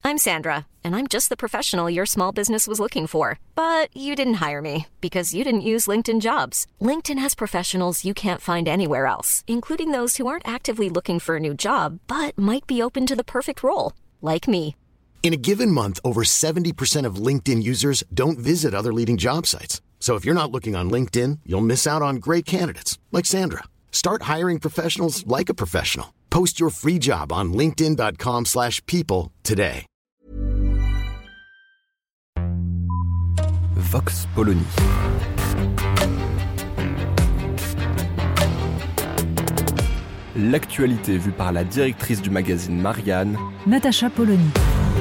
I'm Sandra, and I'm just the professional your small business was looking for. But you didn't hire me because you didn't use LinkedIn Jobs. LinkedIn has professionals you can't find anywhere else, including those who aren't actively looking for a new job, but might be open to the perfect role, like me. In a given month, over 70% of LinkedIn users don't visit other leading job sites. So if you're not looking on LinkedIn, you'll miss out on great candidates like Sandra. Start hiring professionals like a professional. Post your free job on linkedin.com/people today. Vox Polony. L'actualité vue par la directrice du magazine Marianne, Natacha Polony.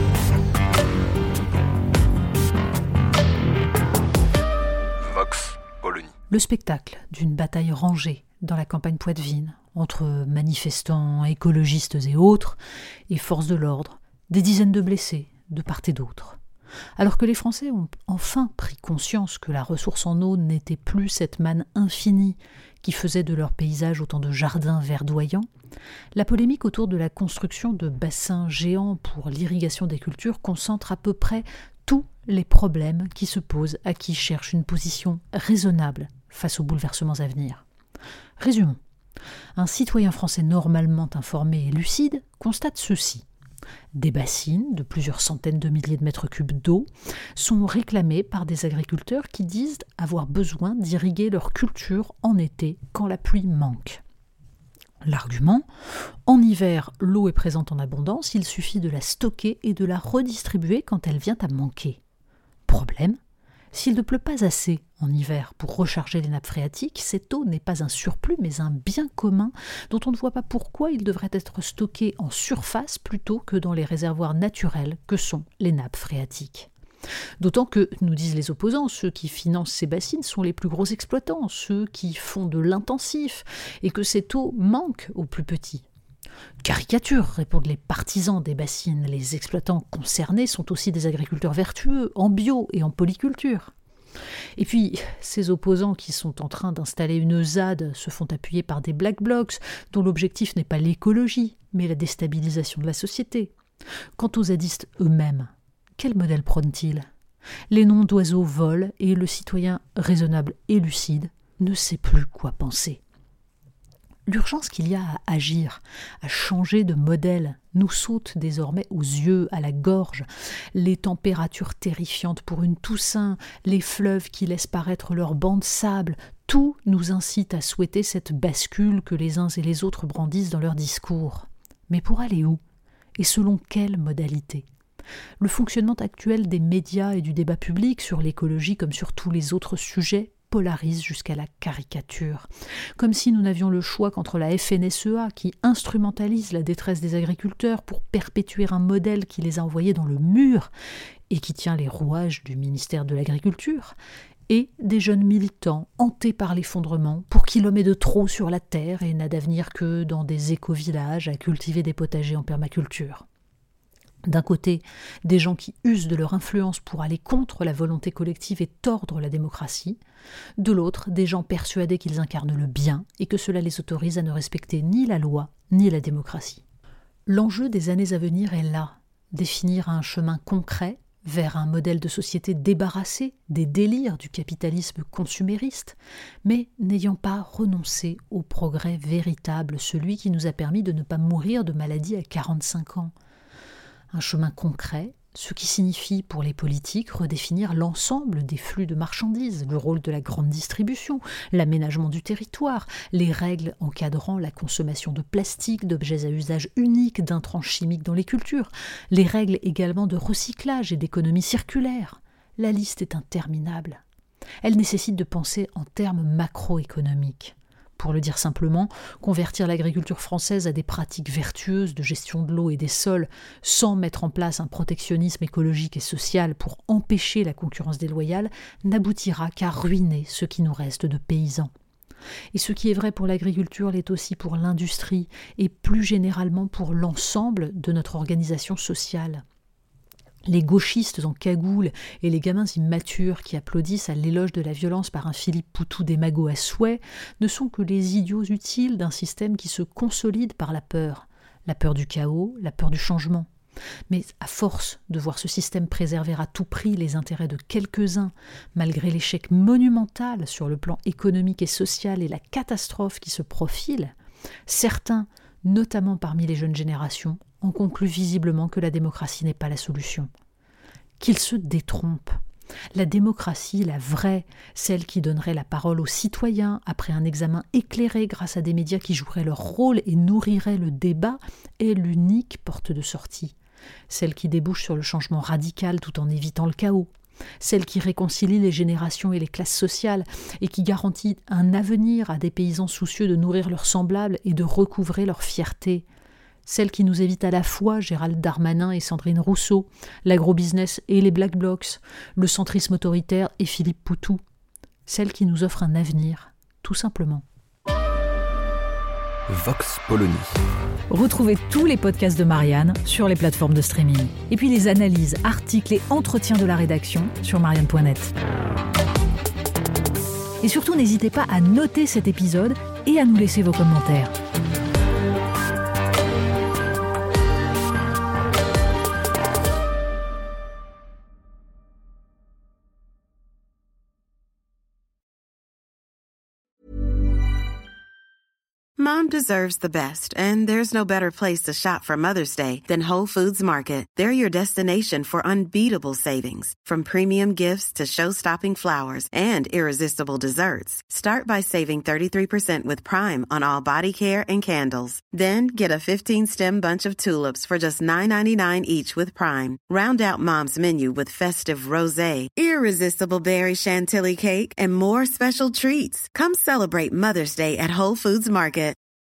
Vox Polony. Le spectacle d'une bataille rangée dans la campagne poitevine entre manifestants, écologistes et autres, et forces de l'ordre, des dizaines de blessés de part et d'autre. Alors que les Français ont enfin pris conscience que la ressource en eau n'était plus cette manne infinie qui faisait de leur paysage autant de jardins verdoyants, la polémique autour de la construction de bassins géants pour l'irrigation des cultures concentre à peu près tous les problèmes qui se posent à qui cherche une position raisonnable face aux bouleversements à venir. Résumons. Un citoyen français normalement informé et lucide constate ceci. Des bassines de plusieurs centaines de milliers de mètres cubes d'eau sont réclamées par des agriculteurs qui disent avoir besoin d'irriguer leur culture en été quand la pluie manque. L'argument, en hiver, l'eau est présente en abondance, il suffit de la stocker et de la redistribuer quand elle vient à manquer. Problème, s'il ne pleut pas assez en hiver pour recharger les nappes phréatiques, cette eau n'est pas un surplus mais un bien commun dont on ne voit pas pourquoi il devrait être stocké en surface plutôt que dans les réservoirs naturels que sont les nappes phréatiques. D'autant que, nous disent les opposants, ceux qui financent ces bassines sont les plus gros exploitants, ceux qui font de l'intensif, et que cette eau manque aux plus petits. Caricature, répondent les partisans des bassines. Les exploitants concernés sont aussi des agriculteurs vertueux, en bio et en polyculture. Et puis, ces opposants qui sont en train d'installer une ZAD se font appuyer par des black blocs dont l'objectif n'est pas l'écologie, mais la déstabilisation de la société. Quant aux zadistes eux-mêmes, quel modèle prônent-ils ? Les noms d'oiseaux volent et le citoyen raisonnable et lucide ne sait plus quoi penser. L'urgence qu'il y a à agir, à changer de modèle, nous saute désormais aux yeux, à la gorge. Les températures terrifiantes pour une Toussaint, les fleuves qui laissent paraître leurs bancs de sable, tout nous incite à souhaiter cette bascule que les uns et les autres brandissent dans leurs discours. Mais pour aller où ? Et selon quelle modalité ? Le fonctionnement actuel des médias et du débat public sur l'écologie comme sur tous les autres sujets polarise jusqu'à la caricature. Comme si nous n'avions le choix qu'entre la FNSEA qui instrumentalise la détresse des agriculteurs pour perpétuer un modèle qui les a envoyés dans le mur et qui tient les rouages du ministère de l'Agriculture, et des jeunes militants hantés par l'effondrement pour qui l'homme est de trop sur la terre et n'a d'avenir que dans des éco-villages à cultiver des potagers en permaculture. D'un côté, des gens qui usent de leur influence pour aller contre la volonté collective et tordre la démocratie. De l'autre, des gens persuadés qu'ils incarnent le bien et que cela les autorise à ne respecter ni la loi ni la démocratie. L'enjeu des années à venir est là, définir un chemin concret vers un modèle de société débarrassé des délires du capitalisme consumériste, mais n'ayant pas renoncé au progrès véritable, celui qui nous a permis de ne pas mourir de maladie à 45 ans. Un chemin concret, ce qui signifie pour les politiques redéfinir l'ensemble des flux de marchandises, le rôle de la grande distribution, l'aménagement du territoire, les règles encadrant la consommation de plastique, d'objets à usage unique, d'intrants chimiques dans les cultures, les règles également de recyclage et d'économie circulaire. La liste est interminable. Elle nécessite de penser en termes macroéconomiques. Pour le dire simplement, convertir l'agriculture française à des pratiques vertueuses de gestion de l'eau et des sols sans mettre en place un protectionnisme écologique et social pour empêcher la concurrence déloyale n'aboutira qu'à ruiner ce qui nous reste de paysans. Et ce qui est vrai pour l'agriculture l'est aussi pour l'industrie et plus généralement pour l'ensemble de notre organisation sociale. Les gauchistes en cagoule et les gamins immatures qui applaudissent à l'éloge de la violence par un Philippe Poutou démago à souhait ne sont que les idiots utiles d'un système qui se consolide par la peur du chaos, la peur du changement. Mais à force de voir ce système préserver à tout prix les intérêts de quelques-uns, malgré l'échec monumental sur le plan économique et social et la catastrophe qui se profile, certains, notamment parmi les jeunes générations, en concluent visiblement que la démocratie n'est pas la solution. Qu'ils se détrompent. La démocratie, la vraie, celle qui donnerait la parole aux citoyens après un examen éclairé grâce à des médias qui joueraient leur rôle et nourriraient le débat, est l'unique porte de sortie. Celle qui débouche sur le changement radical tout en évitant le chaos. Celle qui réconcilie les générations et les classes sociales et qui garantit un avenir à des paysans soucieux de nourrir leurs semblables et de recouvrer leur fierté. Celle qui nous évite à la fois Gérald Darmanin et Sandrine Rousseau, l'agrobusiness et les Black Blocs, le centrisme autoritaire et Philippe Poutou. Celle qui nous offre un avenir, tout simplement. Vox Polony. Retrouvez tous les podcasts de Marianne sur les plateformes de streaming. Et puis les analyses, articles et entretiens de la rédaction sur marianne.net. Et surtout, n'hésitez pas à noter cet épisode et à nous laisser vos commentaires. Mom deserves the best, and there's no better place to shop for Mother's Day than Whole Foods Market. They're your destination for unbeatable savings, from premium gifts to show-stopping flowers and irresistible desserts. Start by saving 33% with Prime on all body care and candles. Then get a 15-stem bunch of tulips for just $9.99 each with Prime. Round out Mom's menu with festive rosé, irresistible berry chantilly cake, and more special treats. Come celebrate Mother's Day at Whole Foods Market.